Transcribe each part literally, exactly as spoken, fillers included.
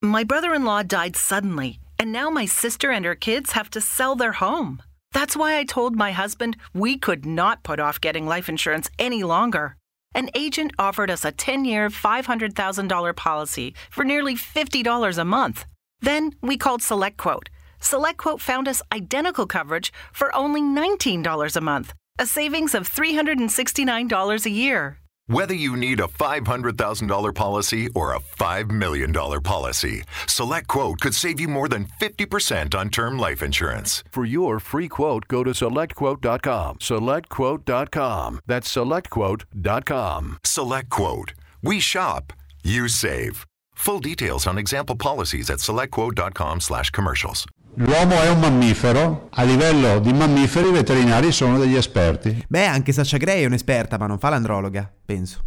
My brother-in-law died suddenly, and now my sister and her kids have to sell their home. That's why I told my husband we could not put off getting life insurance any longer. An agent offered us a ten-year, five hundred thousand dollars policy for nearly fifty dollars a month. Then we called SelectQuote. SelectQuote found us identical coverage for only nineteen dollars a month, a savings of three hundred sixty-nine dollars a year. Whether you need a five hundred thousand dollars policy or a five million dollars policy, SelectQuote could save you more than fifty percent on term life insurance. For your free quote, go to select quote dot com. select quote dot com. That's select quote dot com. SelectQuote. We shop, you save. Full details on example policies at select quote dot com slash commercials. L'uomo è un mammifero, a livello di mammiferi i veterinari sono degli esperti. Beh, anche Sasha Grey è un'esperta, ma non fa l'androloga, penso.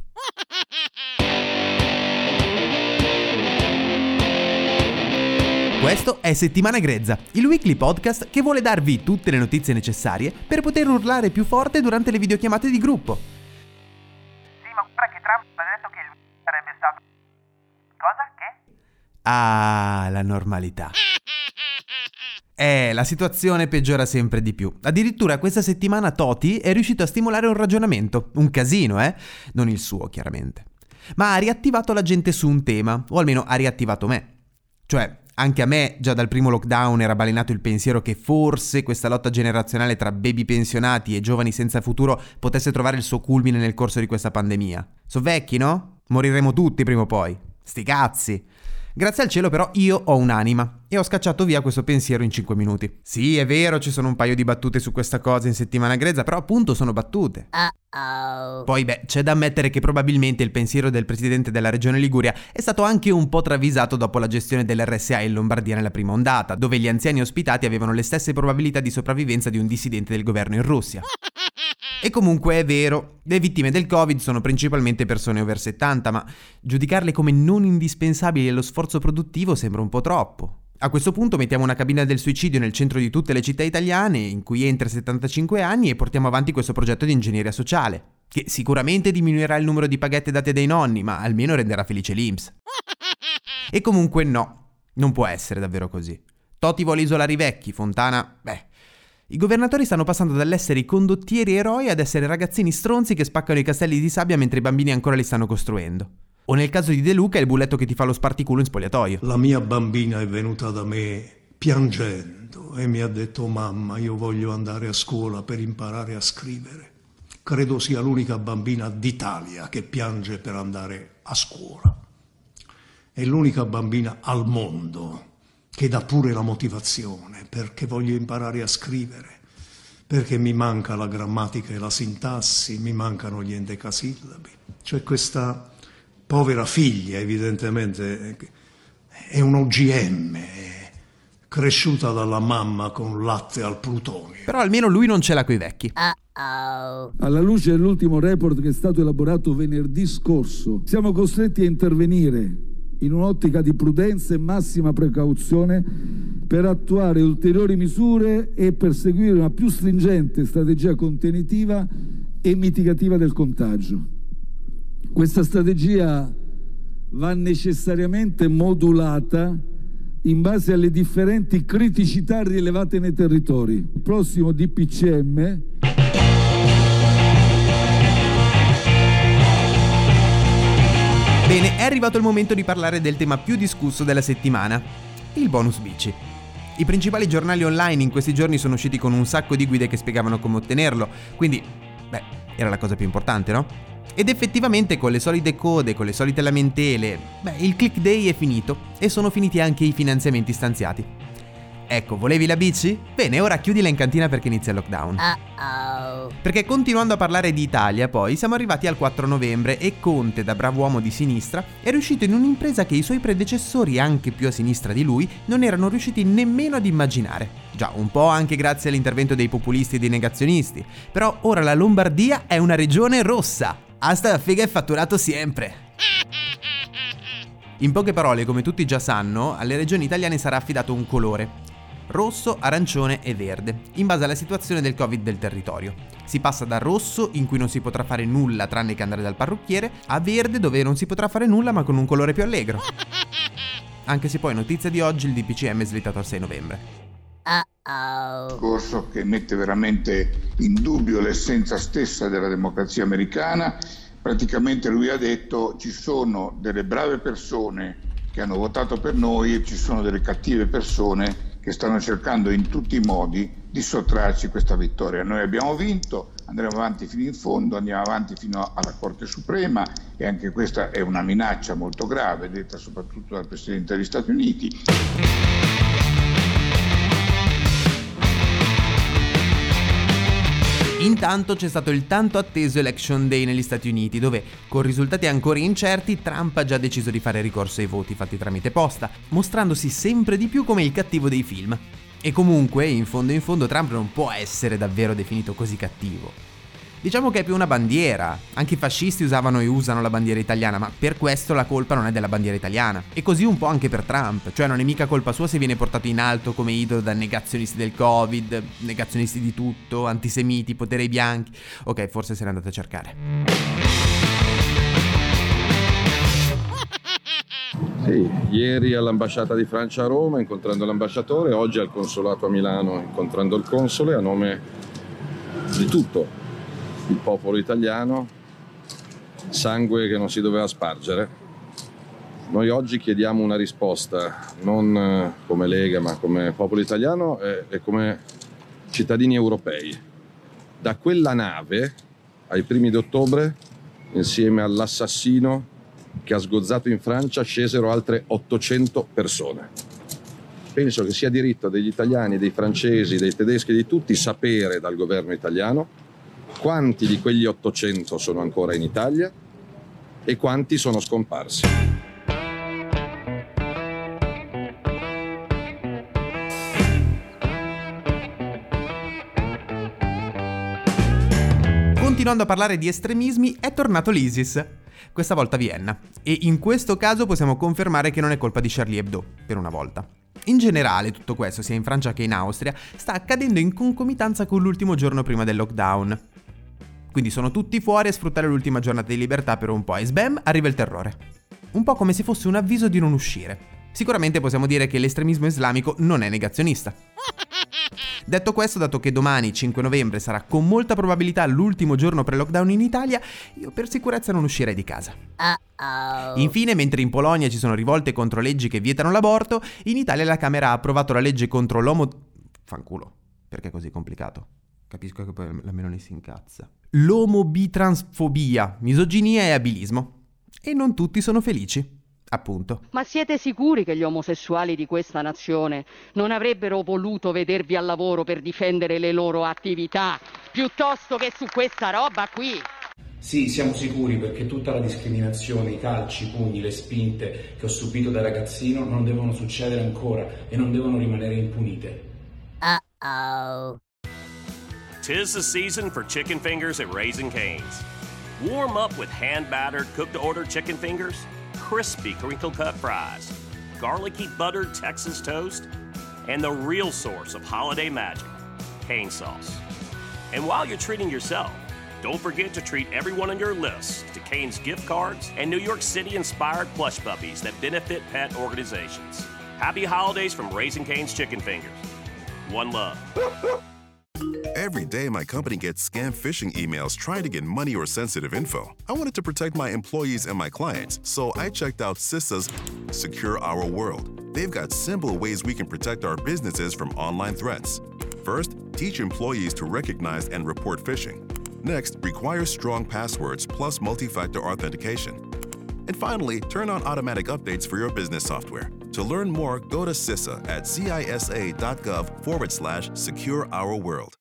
Questo è Settimana Grezza, il weekly podcast che vuole darvi tutte le notizie necessarie per poter urlare più forte durante le videochiamate di gruppo. Sì, ma guarda che Trump ha detto che lui sarebbe stato... Cosa? Che? Ah, la normalità. Eh, la situazione peggiora sempre di più. Addirittura questa settimana Toti è riuscito a stimolare un ragionamento, un casino, eh? Non il suo, chiaramente. Ma ha riattivato la gente su un tema, o almeno ha riattivato me. Cioè, anche a me, già dal primo lockdown era balenato il pensiero che forse questa lotta generazionale tra baby pensionati e giovani senza futuro potesse trovare il suo culmine nel corso di questa pandemia. So vecchi, no? Moriremo tutti prima o poi. Sti cazzi! Grazie al cielo però io ho un'anima e ho scacciato via questo pensiero in cinque minuti. Sì, è vero, ci sono un paio di battute su questa cosa in Settimana Grezza, però appunto sono battute. Uh-oh. Poi beh, c'è da ammettere che probabilmente il pensiero del presidente della regione Liguria è stato anche un po' travisato dopo la gestione dell'erre esse a in Lombardia nella prima ondata, dove gli anziani ospitati avevano le stesse probabilità di sopravvivenza di un dissidente del governo in Russia. E comunque è vero, le vittime del Covid sono principalmente persone over settanta, ma giudicarle come non indispensabili allo sforzo produttivo sembra un po' troppo. A questo punto mettiamo una cabina del suicidio nel centro di tutte le città italiane, in cui entra settantacinque anni, e portiamo avanti questo progetto di ingegneria sociale, che sicuramente diminuirà il numero di paghette date dai nonni, ma almeno renderà felice l'I N P S. E comunque no, non può essere davvero così. Toti vuole isolare i vecchi, Fontana, beh... I governatori stanno passando dall'essere i condottieri eroi ad essere ragazzini stronzi che spaccano i castelli di sabbia mentre i bambini ancora li stanno costruendo. O nel caso di De Luca è il bulletto che ti fa lo sparticulo in spogliatoio. La mia bambina è venuta da me piangendo e mi ha detto: mamma, io voglio andare a scuola per imparare a scrivere. Credo sia l'unica bambina d'Italia che piange per andare a scuola. È l'unica bambina al mondo che dà pure la motivazione, perché voglio imparare a scrivere, perché mi manca la grammatica e la sintassi, mi mancano gli endecasillabi. Cioè questa povera figlia, evidentemente, è un O G M, è cresciuta dalla mamma con latte al plutonio. Però almeno lui non ce l'ha coi vecchi. Uh-oh. Alla luce dell'ultimo report che è stato elaborato venerdì scorso, siamo costretti a intervenire in un'ottica di prudenza e massima precauzione per attuare ulteriori misure e perseguire una più stringente strategia contenitiva e mitigativa del contagio. Questa strategia va necessariamente modulata in base alle differenti criticità rilevate nei territori. Il prossimo D P C M Bene, è arrivato il momento di parlare del tema più discusso della settimana, il bonus bici. I principali giornali online in questi giorni sono usciti con un sacco di guide che spiegavano come ottenerlo, quindi, beh, era la cosa più importante, no? Ed effettivamente con le solite code, con le solite lamentele, beh, il click day è finito e sono finiti anche i finanziamenti stanziati. Ecco, volevi la bici? Bene, ora chiudila in cantina perché inizia il lockdown. Uh-oh. Perché continuando a parlare di Italia, poi, siamo arrivati al quattro novembre e Conte, da bravo uomo di sinistra, è riuscito in un'impresa che i suoi predecessori, anche più a sinistra di lui, non erano riusciti nemmeno ad immaginare. Già, un po' anche grazie all'intervento dei populisti e dei negazionisti. Però ora la Lombardia è una regione rossa. Hasta la figa è fatturato sempre. In poche parole, come tutti già sanno, alle regioni italiane sarà affidato un colore: rosso, arancione e verde, in base alla situazione del Covid del territorio. Si passa da rosso, in cui non si potrà fare nulla tranne che andare dal parrucchiere, a verde, dove non si potrà fare nulla ma con un colore più allegro. anche se poi notizia di oggi il D P C M è slittato al sei novembre. Uh-oh. Corso che mette veramente in dubbio l'essenza stessa della democrazia americana. Praticamente lui ha detto: ci sono delle brave persone che hanno votato per noi e ci sono delle cattive persone che stanno cercando in tutti i modi di sottrarci questa vittoria. Noi abbiamo vinto, andremo avanti fino in fondo, andiamo avanti fino alla Corte Suprema, e anche questa è una minaccia molto grave, detta soprattutto dal Presidente degli Stati Uniti. Intanto c'è stato il tanto atteso Election Day negli Stati Uniti, dove, con risultati ancora incerti, Trump ha già deciso di fare ricorso ai voti fatti tramite posta, mostrandosi sempre di più come il cattivo dei film. E comunque, in fondo in fondo, Trump non può essere davvero definito così cattivo. Diciamo che è più una bandiera. Anche i fascisti usavano e usano la bandiera italiana, ma per questo la colpa non è della bandiera italiana. E così un po' anche per Trump, cioè non è mica colpa sua se viene portato in alto come idolo da negazionisti del Covid, negazionisti di tutto, antisemiti, potere ai bianchi. Ok, forse se ne andate a cercare. Sì, ieri all'ambasciata di Francia a Roma incontrando l'ambasciatore, oggi al consolato a Milano incontrando il console, a nome di tutto il popolo italiano, sangue che non si doveva spargere. Noi oggi chiediamo una risposta, non come Lega ma come popolo italiano e, e come cittadini europei. Da quella nave, ai primi di ottobre, insieme all'assassino che ha sgozzato in Francia, scesero altre ottocento persone. Penso che sia diritto degli italiani, dei francesi, dei tedeschi, di tutti sapere dal governo italiano quanti di quegli ottocento sono ancora in Italia e quanti sono scomparsi. Continuando a parlare di estremismi, è tornato l'ISIS. Questa volta a Vienna. E in questo caso possiamo confermare che non è colpa di Charlie Hebdo, per una volta. In generale, tutto questo, sia in Francia che in Austria, sta accadendo in concomitanza con l'ultimo giorno prima del lockdown. Quindi sono tutti fuori a sfruttare l'ultima giornata di libertà per un po' e sbam, arriva il terrore. Un po' come se fosse un avviso di non uscire. Sicuramente possiamo dire che l'estremismo islamico non è negazionista. Detto questo, dato che domani, cinque novembre, sarà con molta probabilità l'ultimo giorno pre-lockdown in Italia, io per sicurezza non uscirei di casa. Uh-oh. Infine, mentre in Polonia ci sono rivolte contro leggi che vietano l'aborto, in Italia la Camera ha approvato la legge contro l'omo... Fanculo, perché è così complicato? Capisco che poi la Meloni si incazza. L'omobitransfobia, misoginia e abilismo. E non tutti sono felici. Appunto. Ma siete sicuri che gli omosessuali di questa nazione non avrebbero voluto vedervi al lavoro per difendere le loro attività, piuttosto che su questa roba qui? Sì, siamo sicuri, perché tutta la discriminazione, i calci, i pugni, le spinte che ho subito da ragazzino non devono succedere ancora e non devono rimanere impunite. Uh-oh. Tis the season for chicken fingers at Raising Cane's. Warm up with hand-battered, cooked-to-order chicken fingers, crispy crinkle-cut fries, garlicky buttered Texas toast, and the real source of holiday magic, cane sauce. And while you're treating yourself, don't forget to treat everyone on your list to Cane's gift cards and New York City-inspired plush puppies that benefit pet organizations. Happy holidays from Raising Cane's Chicken Fingers. One love. Every day, my company gets scam phishing emails trying to get money or sensitive info. I wanted to protect my employees and my clients, so I checked out CISA's Secure Our World. They've got simple ways we can protect our businesses from online threats. First, teach employees to recognize and report phishing. Next, require strong passwords plus multi-factor authentication. And finally, turn on automatic updates for your business software. To learn more, go to CISA at cisa.gov forward slash secure our world.